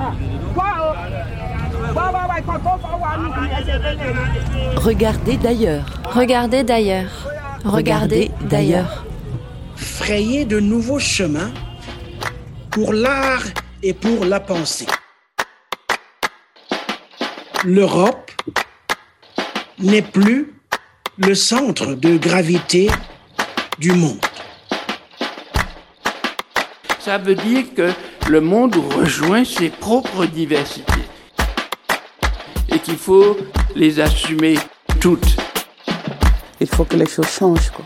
Regardez d'ailleurs. Regardez d'ailleurs. Regardez d'ailleurs. Frayer de nouveaux chemins pour l'art et pour la pensée. L'Europe n'est plus le centre de gravité du monde. Ça veut dire que le monde rejoint ses propres diversités et qu'il faut les assumer toutes. Il faut que les choses changent, quoi.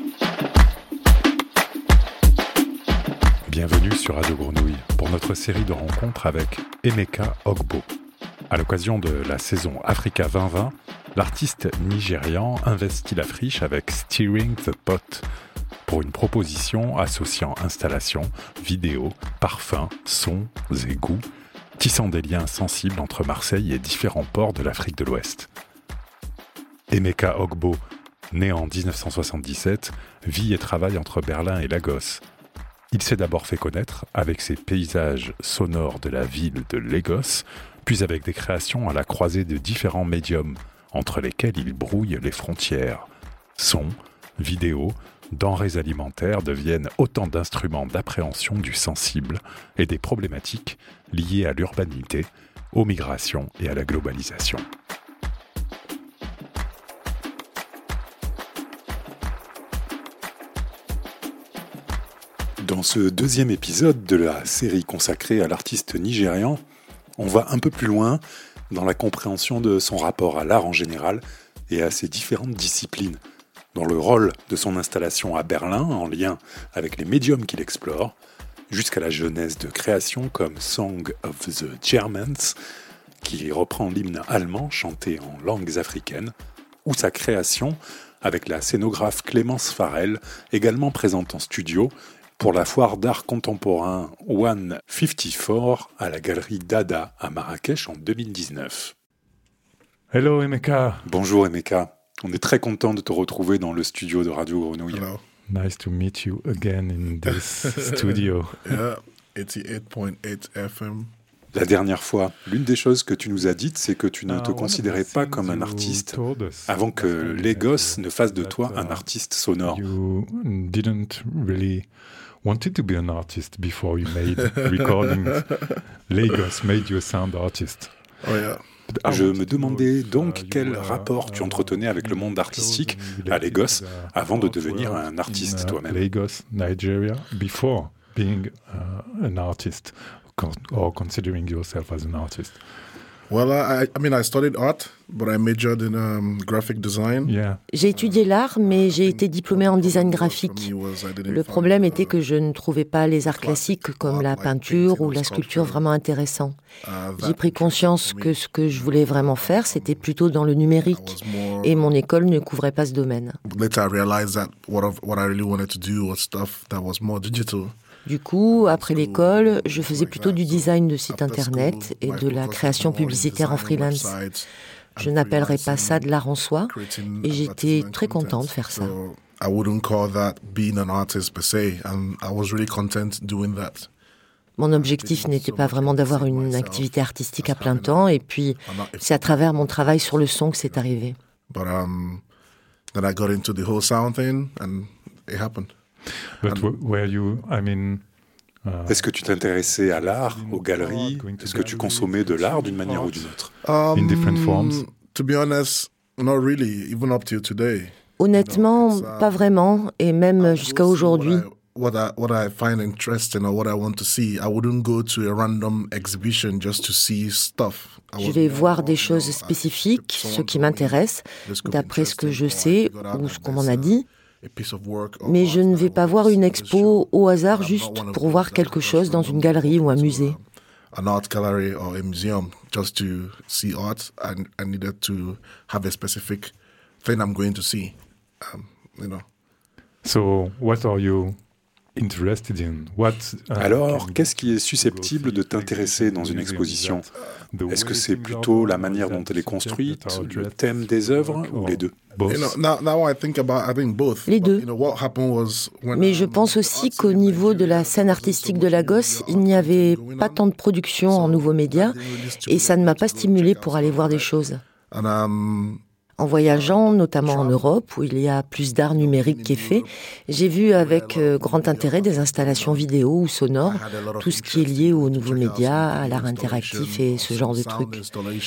Bienvenue sur Radio Grenouille pour notre série de rencontres avec Emeka Ogbo. À l'occasion de la saison Africa 2020, l'artiste nigérian investit la friche avec Stirring the Pot pour une proposition associant installation, vidéo, parfums, sons et goûts, tissant des liens sensibles entre Marseille et différents ports de l'Afrique de l'Ouest. Emeka Ogbo, né en 1977, vit et travaille entre Berlin et Lagos. Il s'est d'abord fait connaître avec ses paysages sonores de la ville de Lagos, puis avec des créations à la croisée de différents médiums, entre lesquels il brouille les frontières. Sons, vidéos, denrées alimentaires deviennent autant d'instruments d'appréhension du sensible et des problématiques liées à l'urbanité, aux migrations et à la globalisation. Dans ce deuxième épisode de la série consacrée à l'artiste nigérian, on va un peu plus loin dans la compréhension de son rapport à l'art en général et à ses différentes disciplines, dans le rôle de son installation à Berlin en lien avec les médiums qu'il explore, jusqu'à la genèse de créations comme Song of the Germans, qui reprend l'hymne allemand chanté en langues africaines, ou sa création avec la scénographe Clémence Farrell, également présente en studio, pour la foire d'art contemporain 154 à la galerie Dada à Marrakech en 2019. Hello Emeka. Bonjour Emeka. On est très content de te retrouver dans le studio de Radio Grenouille. Hello. Nice to meet you again in this studio. Yeah, 88.8 FM. La dernière fois, l'une des choses que tu nous as dites, c'est que tu ne te considérais pas comme un artiste avant que Lagos ne fasse de toi un artiste sonore. You didn't really wanted to be an artist before you made recordings. Lagos made you a sound artist. Oh yeah. Je me demandais donc quel rapport tu entretenais avec le monde artistique à Lagos avant de devenir un artiste toi-même. Lagos, Nigeria, before being an artist or considering yourself as an artist. Well, I studied art, but I majored in graphic design. Yeah. J'ai étudié l'art, mais j'ai été diplômée en design graphique. Le problème était que je ne trouvais pas les arts classiques comme la peinture ou la sculpture vraiment intéressants. J'ai pris conscience que ce que je voulais vraiment faire, c'était plutôt dans le numérique, et mon école ne couvrait pas ce domaine. Later, I realized that what I really wanted to do was stuff that was more digital. Du coup, après l'école, je faisais plutôt du design de sites internet et de la création publicitaire en freelance. Je n'appellerais pas ça de l'art en soi, et j'étais très content de faire ça. I wouldn't call that being an artist per se, and I was really content doing that. Mon objectif n'était pas vraiment d'avoir une activité artistique à plein temps, et puis c'est à travers mon travail sur le son que c'est arrivé. But then I got into the whole sound thing, and it happened. But were you, Est-ce que tu t'intéressais à l'art, aux galeries? Est-ce que tu consommais de l'art d'une manière ou d'une autre? in different forms? To be honest, not really, even up till today. Honnêtement, pas vraiment, et même jusqu'à aujourd'hui. What I find interesting or what I want to see, I wouldn't go to a random exhibition just to see stuff. Je vais voir des choses spécifiques, ce qui m'intéresse, d'après ce que je sais ou ce qu'on m'en a dit. Mais je ne vais pas voir une expo au hasard juste pour voir quelque chose dans une galerie ou un musée. An art gallery or a museum just to see art. I needed to have a specific thing I'm going to see. So, what are you Alors, qu'est-ce qui est susceptible de t'intéresser dans une exposition ? Est-ce que c'est plutôt la manière dont elle est construite, le thème des œuvres, ou les deux ? Les deux. Mais je pense aussi qu'au niveau de la scène artistique de Lagos, il n'y avait pas tant de production en nouveaux médias et ça ne m'a pas stimulé pour aller voir des choses. En voyageant, notamment en Europe, où il y a plus d'art numérique qui est fait, j'ai vu avec grand intérêt des installations vidéo ou sonores, tout ce qui est lié aux nouveaux médias, à l'art interactif et ce genre de trucs.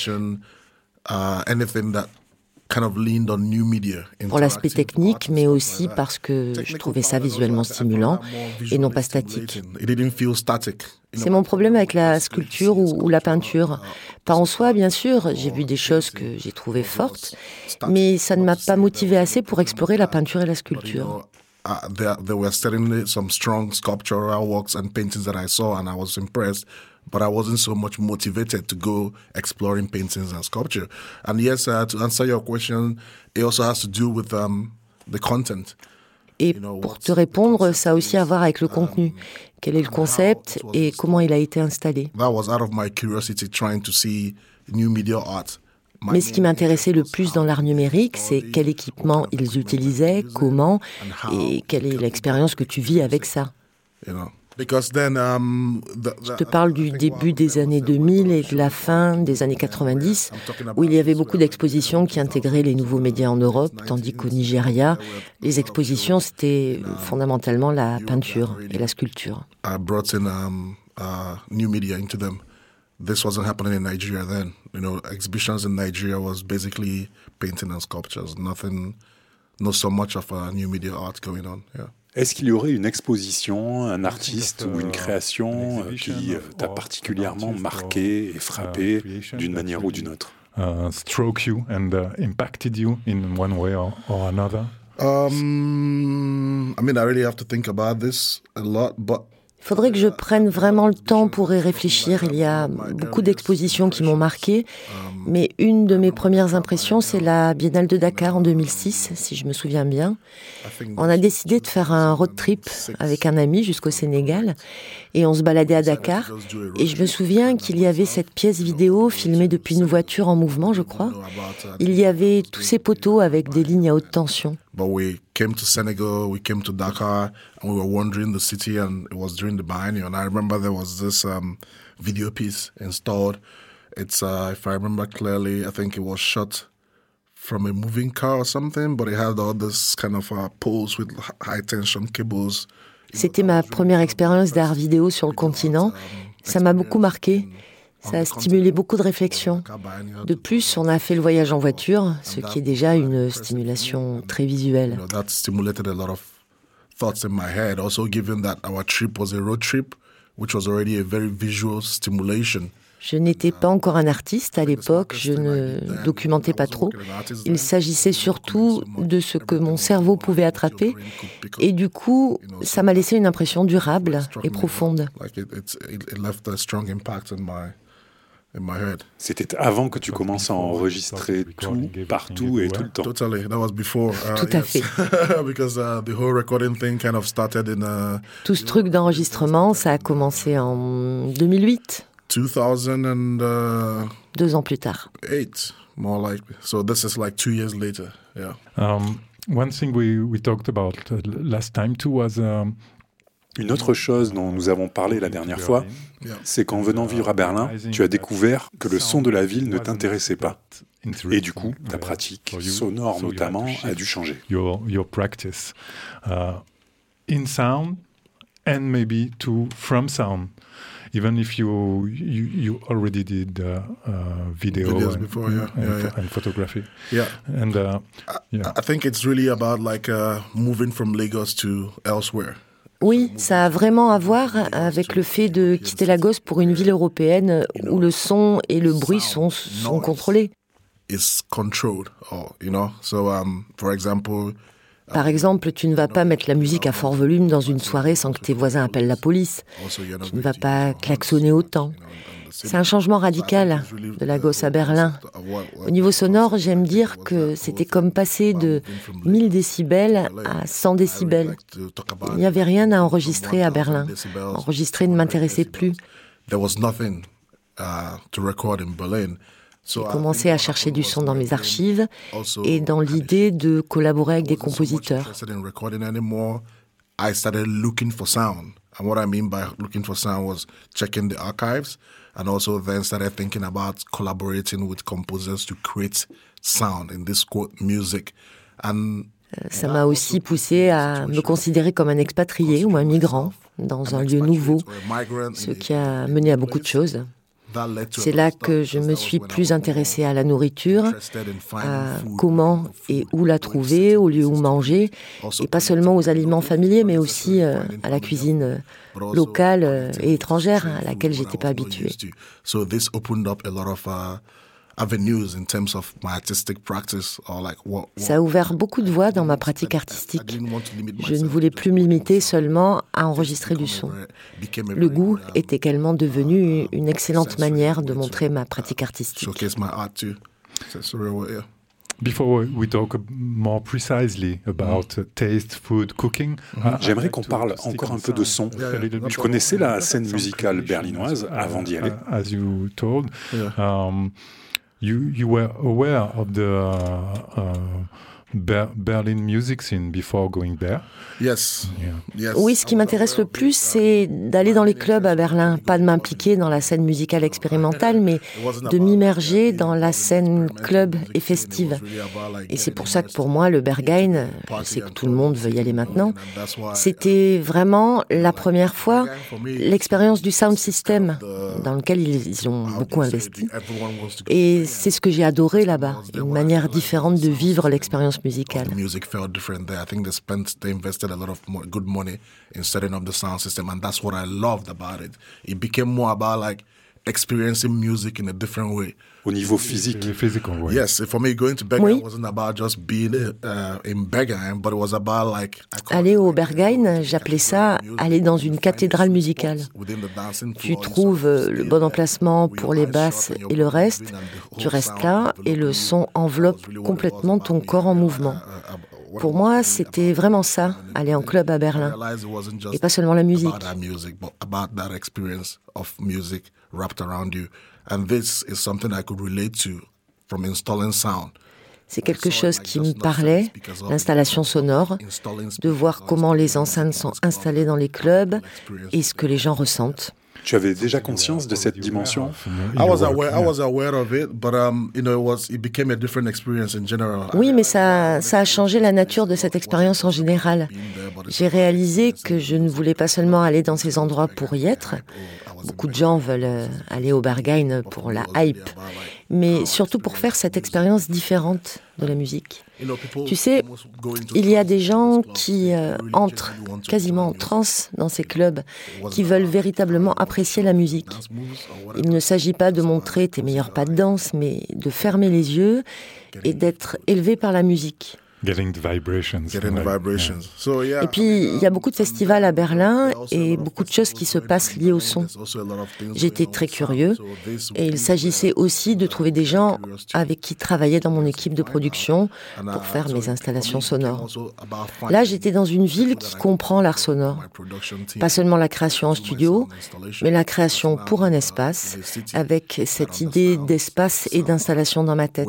Pour l'aspect technique, mais aussi parce que je trouvais ça visuellement stimulant et non pas statique. C'est mon problème avec la sculpture ou la peinture. Pas en soi, bien sûr, j'ai vu des choses que j'ai trouvées fortes, mais ça ne m'a pas motivé assez pour explorer la peinture et la sculpture. There were certainly some strong sculptural works and paintings that I saw and I was impressed, but I wasn't so much motivated to go exploring paintings and sculpture. And yes, to answer your question, it also has to do with the content. Et pour te répondre, ça a aussi à voir avec le contenu. Quel est le concept et comment il a été installé. That was out of my curiosity trying to see new media art. Mais ce qui m'intéressait le plus dans l'art numérique, c'est quel équipement ils utilisaient, comment, et quelle est l'expérience que tu vis avec ça. Je te parle du début des années 2000 et de la fin des années 90, où il y avait beaucoup d'expositions qui intégraient les nouveaux médias en Europe, tandis qu'au Nigeria, les expositions, c'était fondamentalement la peinture et la sculpture. This wasn't happening in Nigeria then. Exhibitions in Nigeria was basically painting and sculptures. Not so much of new media art going on. Yeah. Est-ce qu'il y aurait une exposition, un artiste ou une création qui t'a particulièrement marqué et frappé d'une manière ou d'une autre? Struck you and impacted you in one way or another? I really have to think about this a lot, but il faudrait que je prenne vraiment le temps pour y réfléchir. Il y a beaucoup d'expositions qui m'ont marqué, mais une de mes premières impressions, c'est la Biennale de Dakar en 2006, si je me souviens bien. On a décidé de faire un road trip avec un ami jusqu'au Sénégal, et on se baladait à Dakar. Et je me souviens qu'il y avait cette pièce vidéo filmée depuis une voiture en mouvement, je crois. Il y avait tous ces poteaux avec des lignes à haute tension. But we came to Senegal, we came to Dakar, and we were wandering the city, and it was during the biennial. And I remember there was this video piece installed. It's, if I remember clearly, I think it was shot from a moving car or something, but it had all this kind of poles with high-tension cables. C'était ma première expérience d'art vidéo sur le continent. Ça m'a beaucoup marqué. Ça a stimulé beaucoup de réflexions. De plus, on a fait le voyage en voiture, ce qui est déjà une stimulation très visuelle. That stimulated a lot of thoughts in my head. Also, given that our trip was a road trip, which was already a very visual stimulation. Je n'étais pas encore un artiste à l'époque, je ne documentais pas trop. Il s'agissait surtout de ce que mon cerveau pouvait attraper. Et du coup, ça m'a laissé une impression durable et profonde. C'était avant que tu commences à enregistrer tout, partout et tout le temps. Totally, that was before. Tout à fait. Because the whole recording thing kind of started in. Tout ce truc d'enregistrement, ça a commencé en 2008. 2000 and. 2 ans plus tard. 8, more likely. So this is like 2 years later. Yeah. One thing we talked about last time too was. Une autre chose dont nous avons parlé la dernière fois, c'est qu'en venant vivre à Berlin, tu as découvert que le son de la ville ne t'intéressait pas. Et du coup, ta pratique, sonore notamment, a dû changer. Your practice in sound and maybe from sound. Even if you already did video and photography. Yeah. And I think it's really about like moving from Lagos to elsewhere. Oui, ça a vraiment à voir avec le fait de quitter Lagos pour une ville européenne où le son et le bruit sont contrôlés. It's controlled, So, for example, Par exemple, tu ne vas pas mettre la musique à fort volume dans une soirée sans que tes voisins appellent la police. Tu ne vas pas klaxonner autant. C'est un changement radical de Lagos à Berlin. Au niveau sonore, j'aime dire que c'était comme passer de 1000 décibels à 100 décibels. Il n'y avait rien à enregistrer à Berlin. Enregistrer ne m'intéressait plus. J'ai commencé à chercher du son dans mes archives et dans l'idée de collaborer avec des compositeurs. I started looking for sound. And what I mean by looking for sound was checking the archives and also then started thinking about collaborating with composers to create sound in this quote music. And ça m'a aussi poussé à me considérer comme un expatrié ou un migrant dans un lieu nouveau, ce qui a mené à beaucoup de choses. C'est là que je me suis plus intéressée à la nourriture, à comment et où la trouver, au lieu où manger, et pas seulement aux aliments familiers, mais aussi à la cuisine locale et étrangère à laquelle j'étais pas habituée. Ça a ouvert beaucoup de voies dans ma pratique artistique. Je ne voulais plus me limiter seulement à enregistrer du son. Le goût est également devenu une excellente manière de montrer ma pratique artistique. Before we talk more precisely about taste, food, cooking, j'aimerais qu'on parle encore un peu de son. Tu connaissais la scène musicale berlinoise avant d'y aller? As you told, you were aware of the Berlin music scene before going there? Yes. Yes. Oui, ce qui m'intéresse le plus, c'est d'aller dans les clubs à Berlin, pas de m'impliquer dans la scène musicale expérimentale, mais de m'immerger dans la scène club et festive. Et c'est pour ça que pour moi, le Berghain, je sais que tout le monde veut y aller maintenant, c'était vraiment la première fois l'expérience du sound system dans lequel ils ont beaucoup investi. Et c'est ce que j'ai adoré là-bas, une manière différente de vivre l'expérience musicale. The music felt different there. I think they invested a lot of good money in setting up the sound system, and that's what I loved about it. It became more about like experiencing music in a different way. Au niveau physique. Ouais. Yes, for me, going to Berghain wasn't about just being in Berghain, but it was about like... Aller au Berghain, j'appelais ça aller dans une cathédrale musicale. Tu trouves le bon emplacement pour les basses et le reste, tu restes là et le son enveloppe complètement ton corps en mouvement. Pour moi, c'était vraiment ça, aller en club à Berlin. Et pas seulement la musique. C'est quelque chose qui me parlait, l'installation sonore, de voir comment les enceintes sont installées dans les clubs et ce que les gens ressentent. Tu avais déjà conscience de cette dimension? Oui, mais ça a changé la nature de cette expérience en général. J'ai réalisé que je ne voulais pas seulement aller dans ces endroits pour y être. Beaucoup de gens veulent aller au Berghain pour la hype, mais surtout pour faire cette expérience différente de la musique. Tu sais, il y a des gens qui entrent quasiment en transe dans ces clubs, qui veulent véritablement apprécier la musique. Il ne s'agit pas de montrer tes meilleurs pas de danse, mais de fermer les yeux et d'être élevé par la musique. Getting the vibrations. Et puis, il y a beaucoup de festivals à Berlin et beaucoup de choses qui se passent liées au son. J'étais très curieux et il s'agissait aussi de trouver des gens avec qui travailler dans mon équipe de production pour faire mes installations sonores. Là, j'étais dans une ville qui comprend l'art sonore. Pas seulement la création en studio, mais la création pour un espace, avec cette idée d'espace et d'installation dans ma tête.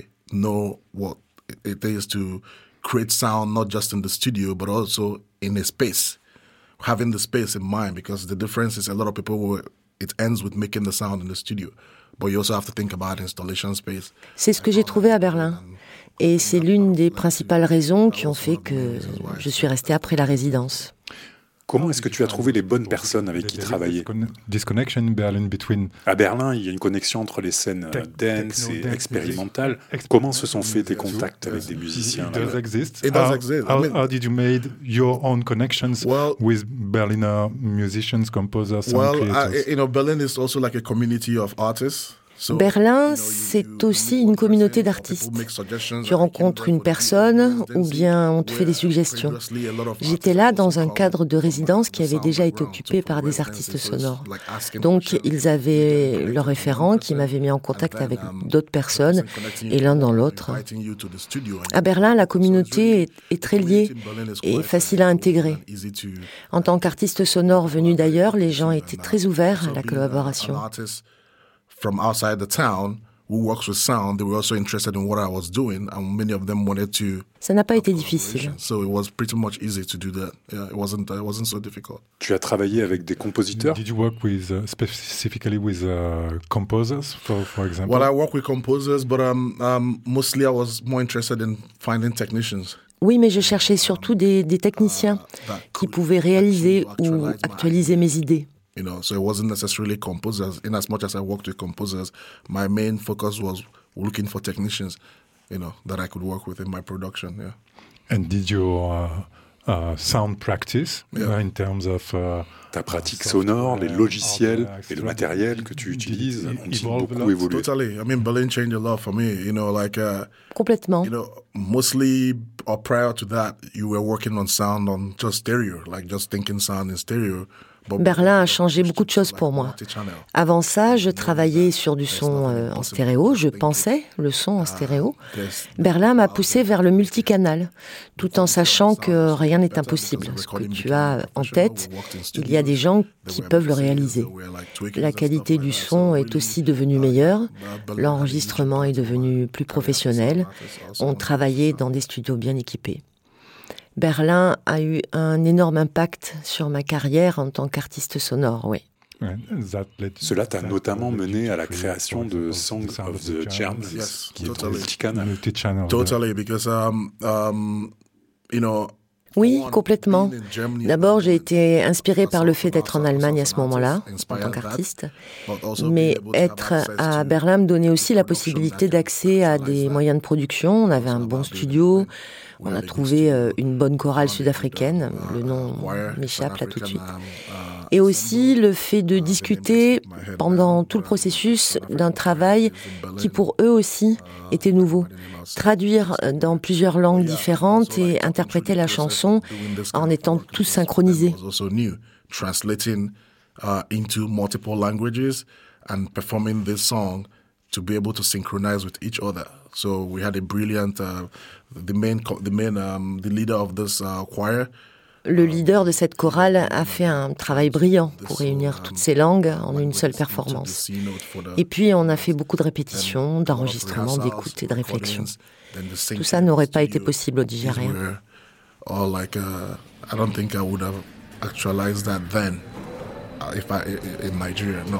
It is to create sound not just in the studio but also in a space, having the space in mind, because the difference is a lot of people it ends with making the sound in the studio, but you also have to think about installation space. C'est ce que j'ai trouvé à Berlin et c'est l'une des principales raisons qui ont fait que je suis restée après la résidence. Comment est-ce que tu as trouvé les bonnes personnes avec qui travailler? À Berlin, il y a une connexion entre les scènes dance et expérimentales. Comment se sont faits tes contacts avec des musiciens? It does exist. How did you make your own connections with Berliner musicians, composers, and creators? Berlin is also like a community of artists. Berlin, c'est aussi une communauté d'artistes. Tu rencontres une personne ou bien on te fait des suggestions. J'étais là dans un cadre de résidence qui avait déjà été occupé par des artistes sonores. Donc, ils avaient leurs référents qui m'avaient mis en contact avec d'autres personnes et l'un dans l'autre. À Berlin, la communauté est très liée et facile à intégrer. En tant qu'artiste sonore venu d'ailleurs, les gens étaient très ouverts à la collaboration. From outside the town who works with sound, they were also interested in what I was doing, and many of them wanted to. Ça n'a pas été difficile. So it was pretty much easy to do that. Yeah, it wasn't so difficult. Tu as travaillé avec des compositeurs? Did you work with specifically with composers, for example? Well, I work with composers, but mostly I was more interested in finding technicians. Oui, mais je cherchais surtout des techniciens qui pouvaient réaliser ou actualiser mes idées. So it wasn't necessarily composers. In as much as I worked with composers, my main focus was looking for technicians, that I could work with in my production. Yeah. And did your sound practice in terms of ta pratique sonore, les logiciels et le matériel que tu utilises ont-ils beaucoup évolué? Totally. I mean, Berlin changed a lot for me. Complètement. Mostly or prior to that, you were working on sound on just stereo, like just thinking sound in stereo. Berlin a changé beaucoup de choses pour moi. Avant ça, je travaillais sur du son en stéréo, je pensais le son en stéréo. Berlin m'a poussé vers le multicanal, tout en sachant que rien n'est impossible. Ce que tu as en tête, il y a des gens qui peuvent le réaliser. La qualité du son est aussi devenue meilleure, l'enregistrement est devenu plus professionnel, on travaillait dans des studios bien équipés. Berlin a eu un énorme impact sur ma carrière en tant qu'artiste sonore, oui. Cela t'a notamment mené à la création de Song of the Germans, qui est ton multicanal. Totally, because Oui, complètement. D'abord, j'ai été inspirée par le fait d'être en Allemagne à ce moment-là, en tant qu'artiste. Mais être à Berlin me donnait aussi la possibilité d'accès à des moyens de production. On avait un bon studio. On a trouvé une bonne chorale sud-africaine, le nom m'échappe là tout de suite. Et aussi le fait de discuter pendant tout le processus d'un travail qui pour eux aussi était nouveau. Traduire dans plusieurs langues différentes et interpréter la chanson en étant tous synchronisés. Translating into multiple languages and performing this song to be able to synchronize with each other. So we had a brilliant, the leader of this choir. Le leader de cette chorale a fait un travail brillant pour réunir toutes ces langues en une seule performance. Et puis on a fait beaucoup de répétitions, d'enregistrements, d'écoute et de réflexion. Tout ça n'aurait pas été possible au Nigeria. I don't think I would have actualized that then in Nigeria, no.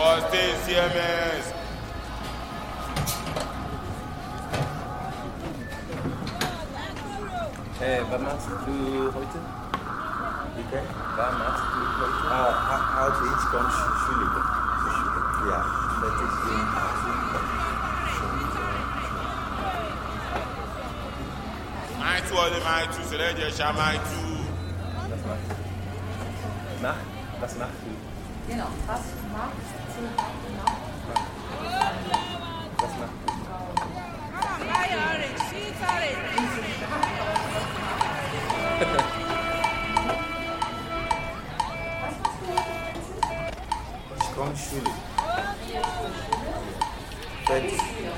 Machst du heute? Bitte? Was machst du heute? Heute ich komme Schule. Ja, das ist Was machst du? Genau, was machst du? Was machst du? Ich komme Schule. Fertig.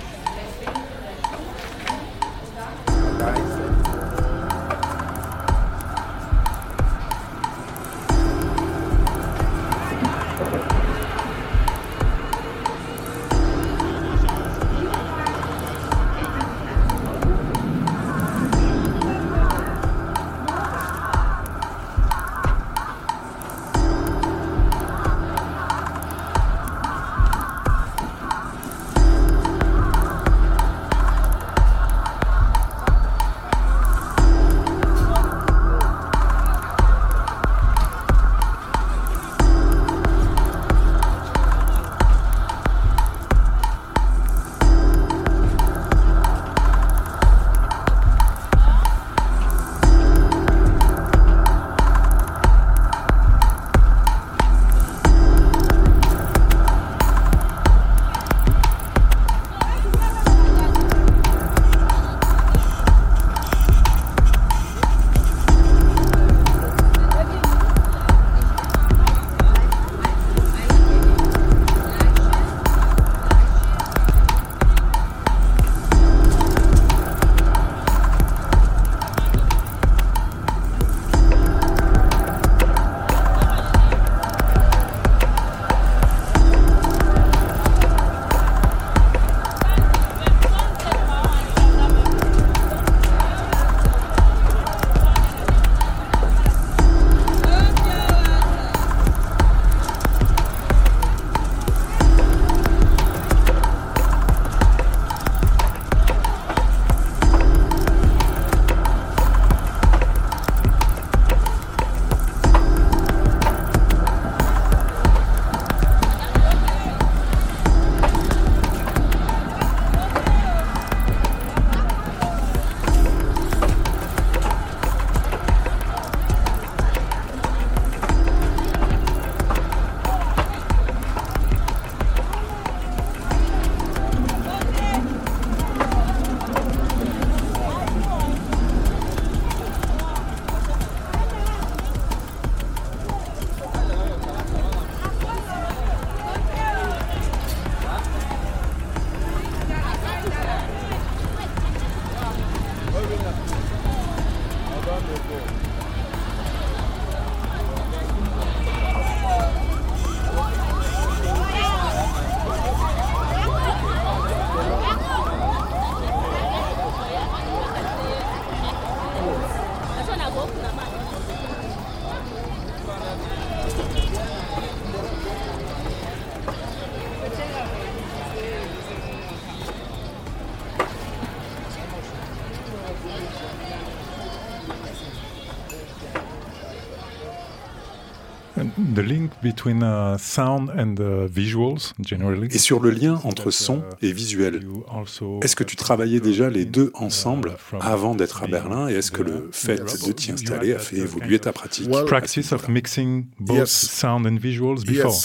The link between sound and visuals, generally. Et sur le lien entre son et visuel, est-ce que tu travaillais déjà les deux ensemble avant d'être à Berlin et est-ce que le fait de t'y installer a fait évoluer ta pratique? Practice of mixing both sound and visuals before.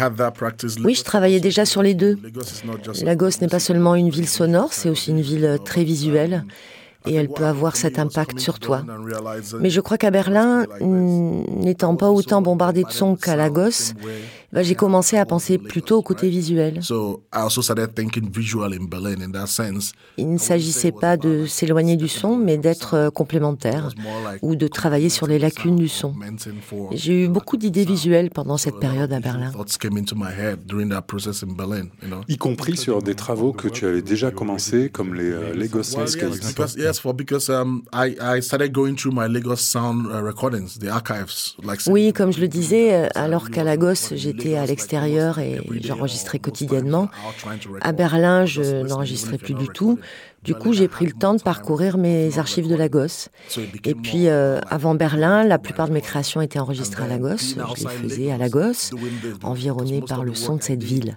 Oui, je travaillais déjà sur les deux. Lagos n'est pas seulement une ville sonore, c'est aussi une ville très visuelle. Et elle peut avoir cet impact sur toi. Mais je crois qu'à Berlin, n'étant pas autant bombardé de sons qu'à Lagos, j'ai commencé à penser plutôt au côté visuel. Il ne s'agissait pas de s'éloigner du son, mais d'être complémentaire ou de travailler sur les lacunes du son. J'ai eu beaucoup d'idées visuelles pendant cette période à Berlin. Y compris sur des travaux que tu avais déjà commencés, comme les Lagos Landscapes. Oui, comme je le disais, alors qu'à Lagos, j'étais j'étais à l'extérieur et j'enregistrais quotidiennement. À Berlin, je n'enregistrais plus du tout. Du coup, j'ai pris le temps de parcourir mes archives de Lagos. Et puis, avant Berlin, la plupart de mes créations étaient enregistrées à Lagos. Je les faisais à Lagos, environné par le son de cette ville.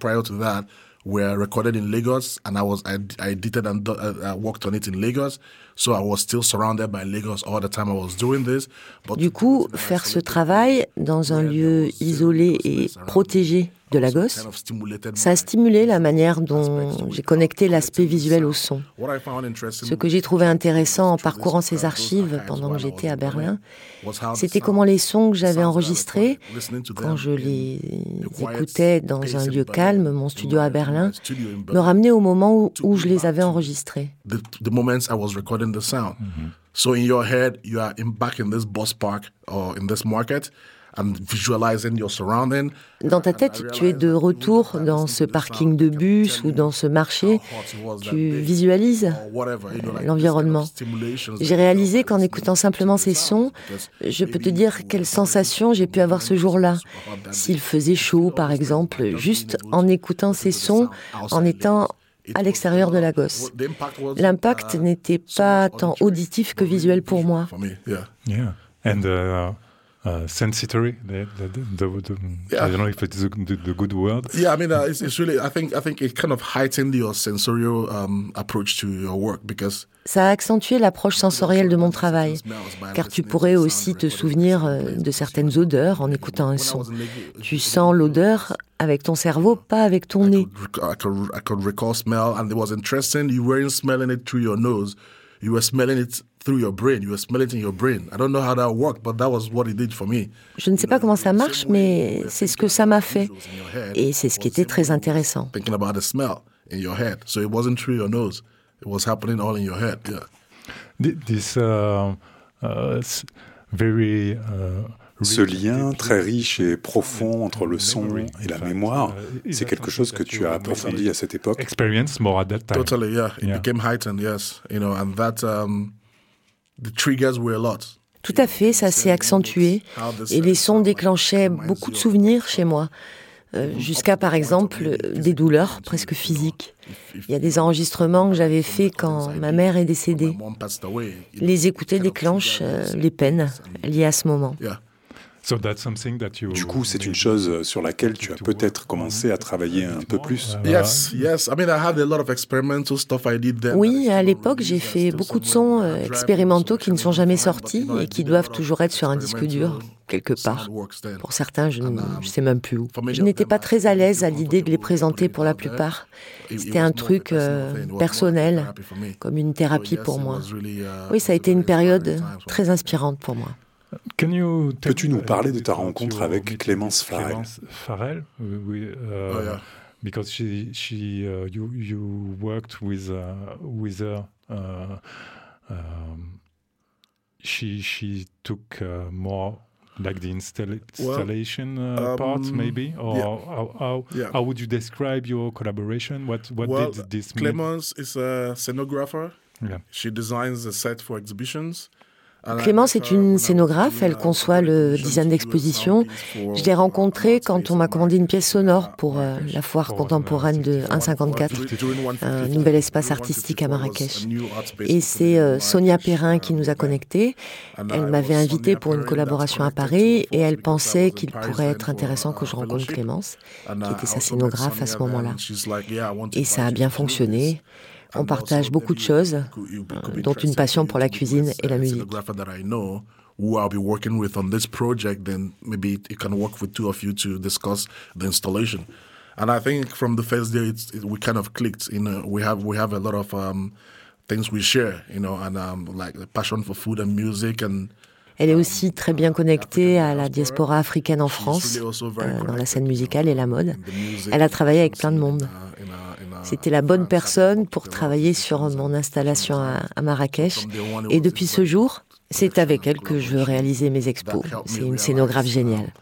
Were recorded in Lagos, and I edited and worked on it in Lagos. So I was still surrounded by Lagos all the time I was doing this. Du coup, faire ce travail dans un lieu isolé et protégé de Lagos, ça a stimulé la manière dont j'ai connecté l'aspect visuel au son. Ce que j'ai trouvé intéressant en parcourant ces archives pendant que j'étais à Berlin, c'était comment les sons que j'avais enregistrés, quand je les écoutais dans un lieu calme, mon studio à Berlin, me ramenaient au moment où je les avais enregistrés. The moments I was recording the sound. So in your head, you are back in this bus park or in this market. And visualizing your surrounding. Dans ta tête, tu es de retour dans ce parking de bus ou dans ce marché. Tu visualises l'environnement. J'ai réalisé qu'en écoutant simplement ces sons, je peux te dire quelle sensation j'ai pu avoir ce jour-là. S'il faisait chaud, par exemple, juste en écoutant ces sons, en étant à l'extérieur de Lagos. L'impact n'était pas tant auditif que visuel pour moi. Yeah. And sensory, I don't know if it's the good word. Yeah, I mean, it's really. I think it kind of heightened your sensorial approach to your work because. Ça a accentué l'approche sensorielle de mon travail, car tu pourrais aussi te souvenir de certaines odeurs en écoutant un son. Tu sens l'odeur avec ton cerveau, pas avec ton nez. I could recall smell, and it was interesting. You weren't smelling it through your nose. You were smelling it through your brain. You were smelling it in your brain. I don't know how that worked, but that was what it did for me. Je ne sais pas comment ça marche, mais c'est ce que ça m'a fait. Et c'est ce qui était très intéressant. Thinking about the smell in your head. So it wasn't through your nose. It was happening all in your head. Yeah. This very Ce lien très riche et profond entre le son et la mémoire, c'est quelque chose que tu as approfondi à cette époque. Experience more at that time. Totally, yeah. It became heightened, yes. You know, and that the triggers were a lot. Tout à fait, ça s'est accentué et les sons déclenchaient beaucoup de souvenirs chez moi. Jusqu'à, par exemple, des douleurs presque physiques. Il y a des enregistrements que j'avais faits quand ma mère est décédée. Les écouter déclenche les peines liées à ce moment. Du coup, c'est une chose sur laquelle tu as peut-être commencé à travailler un peu plus. Yes. I mean, I had a lot of experimental stuff I did then. Oui, à l'époque, j'ai fait beaucoup de sons expérimentaux qui ne sont jamais sortis et qui doivent toujours être sur un disque dur, quelque part. Pour certains, je ne sais même plus où. Je n'étais pas très à l'aise à l'idée de les présenter pour la plupart. C'était un truc personnel, comme une thérapie pour moi. Oui, ça a été une période très inspirante pour moi. Peux-tu nous parler de ta rencontre avec Clémence Farrell? Because you worked with her. She took more like the installation part, maybe, or how would you describe your collaboration? What did this mean? Clémence is a scenographer. Yeah. She designs the set for exhibitions. Clémence est une scénographe, elle conçoit le design d'exposition. Je l'ai rencontrée quand on m'a commandé une pièce sonore pour la foire contemporaine de 154, un nouvel espace artistique à Marrakech. Et c'est Sonia Perrin qui nous a connectés. Elle m'avait invitée pour une collaboration à Paris et elle pensait qu'il pourrait être intéressant que je rencontre Clémence, qui était sa scénographe à ce moment-là. Et ça a bien fonctionné. On partage beaucoup de choses, dont une passion pour la cuisine et la musique. Who I'll be working with on this project, then maybe it can work with two of you to discuss the installation. And I think from the first day, we kind of clicked. You know, we have a lot of things we share. You know, and like the passion for food and music and. Elle est aussi très bien connectée à la diaspora africaine en France, dans la scène musicale et la mode. Elle a travaillé avec plein de monde. C'était la bonne personne pour travailler sur mon installation à Marrakech. Et depuis ce jour, c'est avec elle que je veux réaliser mes expos. C'est une scénographe géniale.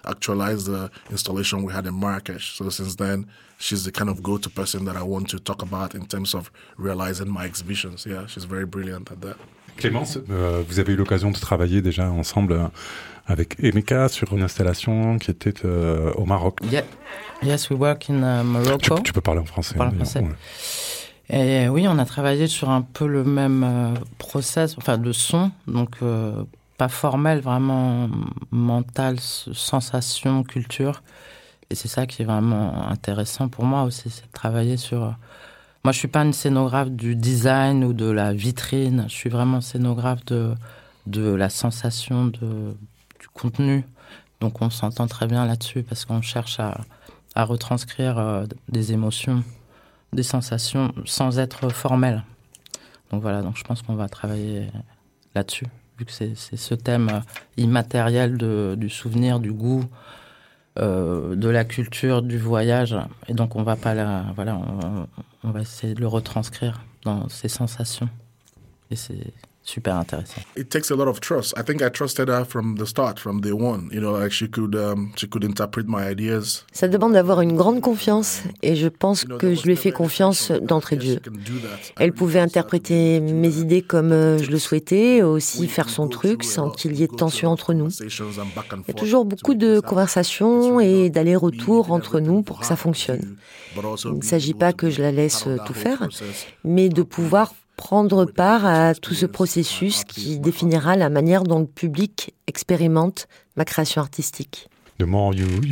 She's the kind of go-to person that I want to talk about in terms of realizing my exhibitions. Yeah, she's very brilliant at that. Clémence, vous avez eu l'occasion de travailler déjà ensemble avec Emeka sur une installation qui était au Maroc. Yeah. Yes, we work in Morocco. Tu peux parler en français. Ouais. Et oui, on a travaillé sur un peu le même process, de son, donc pas formel, vraiment mental, sensation, culture. Et c'est ça qui est vraiment intéressant pour moi aussi, c'est de travailler sur... Moi, je suis pas une scénographe du design ou de la vitrine, je suis vraiment scénographe de la sensation, du contenu. Donc on s'entend très bien là-dessus parce qu'on cherche à retranscrire des émotions, des sensations sans être formel. Donc voilà, donc je pense qu'on va travailler là-dessus, vu que c'est ce thème immatériel du souvenir, du goût, de la culture, du voyage. Et donc on va pas on va essayer de le retranscrire dans ces sensations. Et c'est super intéressant. It takes a lot of trust. I think I trusted her from the start, from day one. You know, like she could interpret my ideas. Ça demande d'avoir une grande confiance et je pense que je lui ai fait confiance d'entrée de jeu. Elle pouvait interpréter mes idées comme je le souhaitais, aussi faire son truc sans qu'il y ait de tension entre nous. Il y a toujours beaucoup de conversations et d'allers-retours entre nous pour que ça fonctionne. Il ne s'agit pas que je la laisse tout faire, mais de pouvoir prendre part à tout ce processus qui définira la manière dont le public expérimente ma création artistique. On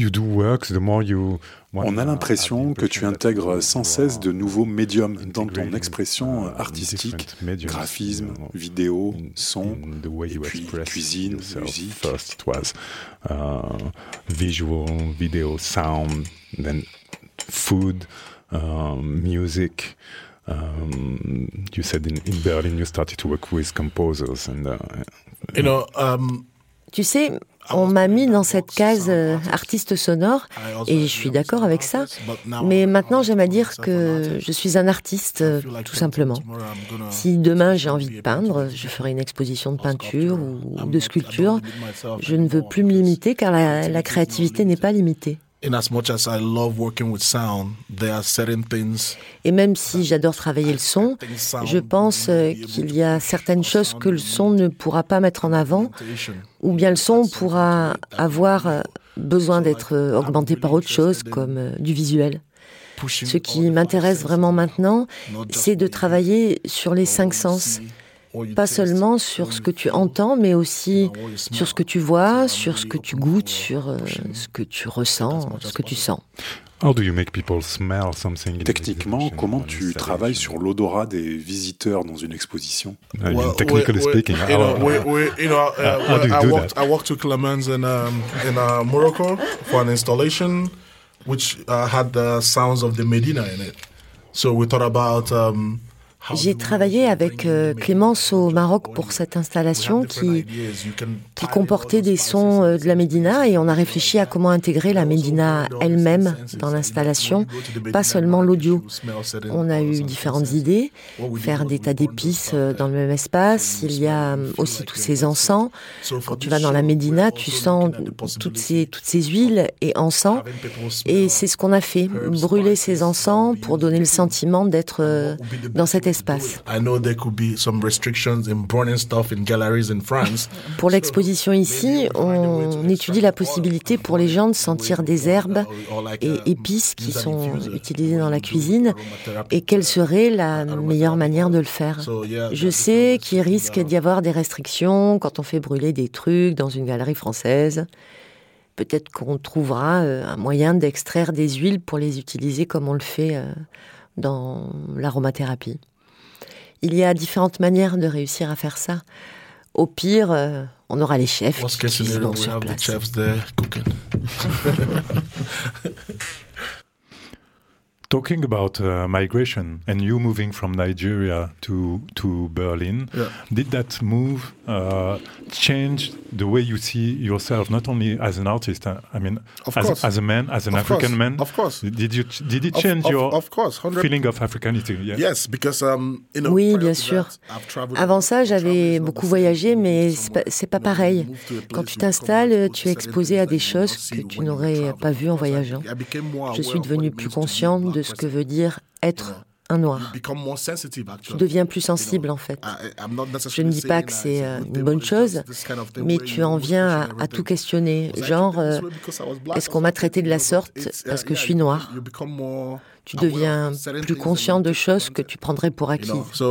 a l'impression que tu intègres sans cesse de nouveaux médiums dans ton expression artistique, graphisme, vidéo, son, et puis cuisine, musique. First it was visual, video, sound, then food, music. You said in Berlin you started to work with composers and Tu sais, on m'a mis dans cette case artiste sonore et je suis d'accord avec ça. Mais maintenant, j'aime à dire que je suis un artiste, tout simplement. Si demain j'ai envie de peindre, je ferai une exposition de peinture ou de sculpture. Je ne veux plus me limiter car la créativité n'est pas limitée. Et même si j'adore travailler le son, je pense qu'il y a certaines choses que le son ne pourra pas mettre en avant, ou bien le son pourra avoir besoin d'être augmenté par autre chose, comme du visuel. Ce qui m'intéresse vraiment maintenant, c'est de travailler sur les 5 sens. Pas seulement sur ce que tu entends, mais aussi sur ce que tu vois, sur ce que tu goûtes, sur ce que tu ressens, ce que tu sens. Techniquement, comment tu travailles sur l'odorat des visiteurs dans une exposition? Technically speaking, I walked to Clemens in Morocco for an installation which had the sounds of the Medina in it. So we thought about J'ai travaillé avec Clémence au Maroc pour cette installation qui comportait des sons de la Médina et on a réfléchi à comment intégrer la Médina elle-même dans l'installation, pas seulement l'audio. On a eu différentes idées, faire des tas d'épices dans le même espace. Il y a aussi tous ces encens. Quand tu vas dans la Médina, tu sens toutes ces huiles et encens. Et c'est ce qu'on a fait, brûler ces encens pour donner le sentiment d'être dans cet espace. Pour l'exposition ici, on étudie la possibilité pour les gens de sentir des herbes et épices qui sont utilisées dans la cuisine et quelle serait la meilleure manière de le faire. Je sais qu'il risque d'y avoir des restrictions quand on fait brûler des trucs dans une galerie française. Peut-être qu'on trouvera un moyen d'extraire des huiles pour les utiliser comme on le fait dans l'aromathérapie. Il y a différentes manières de réussir à faire ça. Au pire, on aura les chefs qui cuisinent sur place. Talking about migration and you moving from Nigeria to Berlin, did that move change the way you see yourself, not only as an artist, I mean, as a man, as an African man? Of course. Did it change your feeling of Africanity? Yeah. Yes, because oui, bien sûr. Avant ça, j'avais beaucoup voyagé, mais c'est pas pareil. Quand tu t'installes, tu es exposé à des choses que tu n'aurais pas vues en voyageant. Je suis devenue plus consciente de ce que veut dire être un noir. Tu deviens plus sensible en fait. Je ne dis pas que c'est une bonne chose, mais tu en viens à tout questionner. Genre, est-ce qu'on m'a traité de la sorte parce que je suis noir? Tu deviens plus conscient de choses que tu prendrais pour acquises.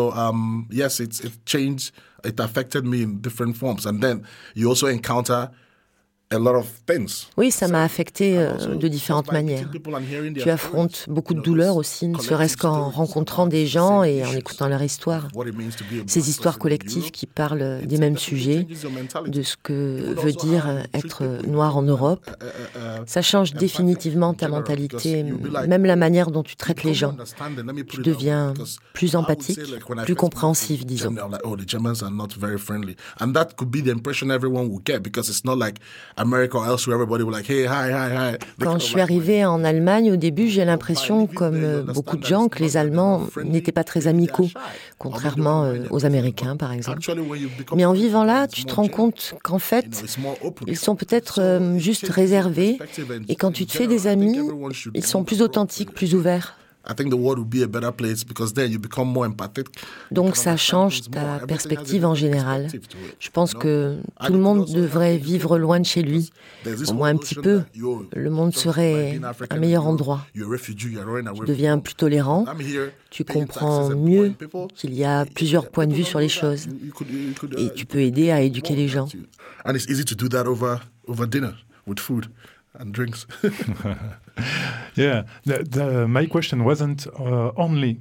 It affected me in different forms. And then you also encounter a lot of things. Oui, ça m'a affecté de différentes manières. Tu affrontes beaucoup de douleurs aussi, ne serait-ce qu'en rencontrant des gens et en écoutant leur histoire. Ces histoires collectives qui parlent des mêmes sujets, de ce que veut dire être noir en Europe. Ça change définitivement ta mentalité, même la manière dont tu traites les gens. Tu deviens plus empathique, plus compréhensif, disons. And that could be the impression everyone will get because it's not like America or elsewhere, everybody will like, hey, hi, hi, hi. Quand je suis arrivée en Allemagne, au début, j'ai l'impression, comme beaucoup de gens, que les Allemands n'étaient pas très amicaux, contrairement aux Américains, par exemple. Mais en vivant là, tu te rends compte qu'en fait, ils sont peut-être juste réservés, et quand tu te fais des amis, ils sont plus authentiques, plus ouverts. Donc ça change ta perspective en général. Je pense que tout le monde devrait vivre loin de chez lui, au moins un petit peu. Le monde serait un meilleur endroit. Tu deviens plus tolérant, tu comprends mieux qu'il y a plusieurs points de vue sur les choses et tu peux aider à éduquer les gens. And drinks. Yeah, my question wasn't only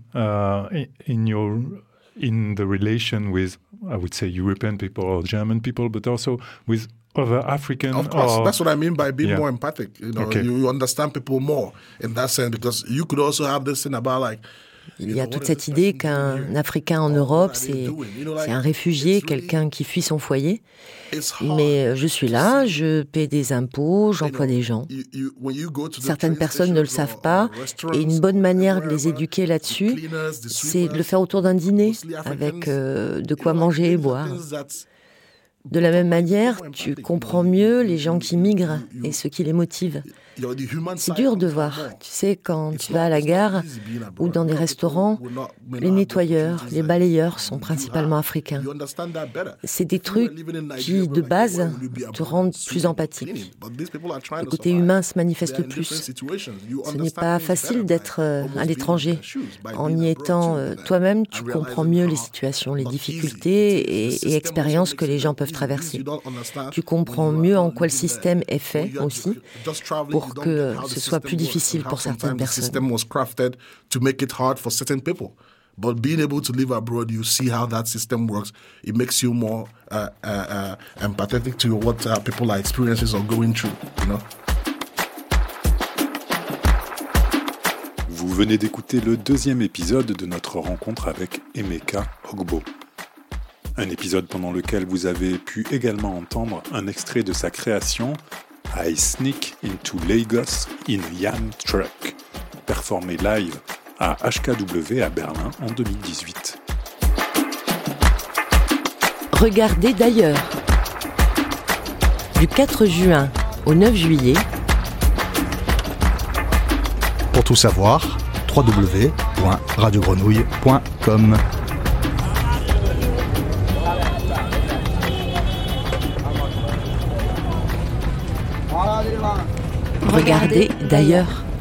in the relation with, I would say, European people or German people, but also with other African. Of course, that's what I mean by being more empathic. You know, you understand people more in that sense because you could also have this thing about like. Il y a toute cette idée qu'un Africain en Europe, c'est un réfugié, quelqu'un qui fuit son foyer. Mais je suis là, je paie des impôts, j'emploie des gens. Certaines personnes ne le savent pas, et une bonne manière de les éduquer là-dessus, c'est de le faire autour d'un dîner, avec de quoi manger et boire. De la même manière, tu comprends mieux les gens qui migrent et ce qui les motive. C'est dur de voir. Tu sais, quand tu vas à la gare ou dans des restaurants, les nettoyeurs, les balayeurs sont principalement africains. C'est des trucs qui, de base, te rendent plus empathique. Le côté humain se manifeste plus. Ce n'est pas facile d'être à l'étranger. En y étant toi-même, tu comprends mieux les situations, les difficultés et expériences que les gens peuvent traverser. Tu comprends mieux en quoi le système est fait aussi, pour que ce soit plus difficile pour certaines personnes. But being able to live abroad, you see how that system works. It makes you more empathetic to what people are experiencing or going through, you know. Vous venez d'écouter le 2e épisode de notre rencontre avec Emeka Ogbo. Un épisode pendant lequel vous avez pu également entendre un extrait de sa création I Sneak into Lagos in a Yam Truck, performé live à HKW à Berlin en 2018. Regardez d'ailleurs. Du 4 juin au 9 juillet. Pour tout savoir, www.radiogrenouille.com. Regardez d'ailleurs.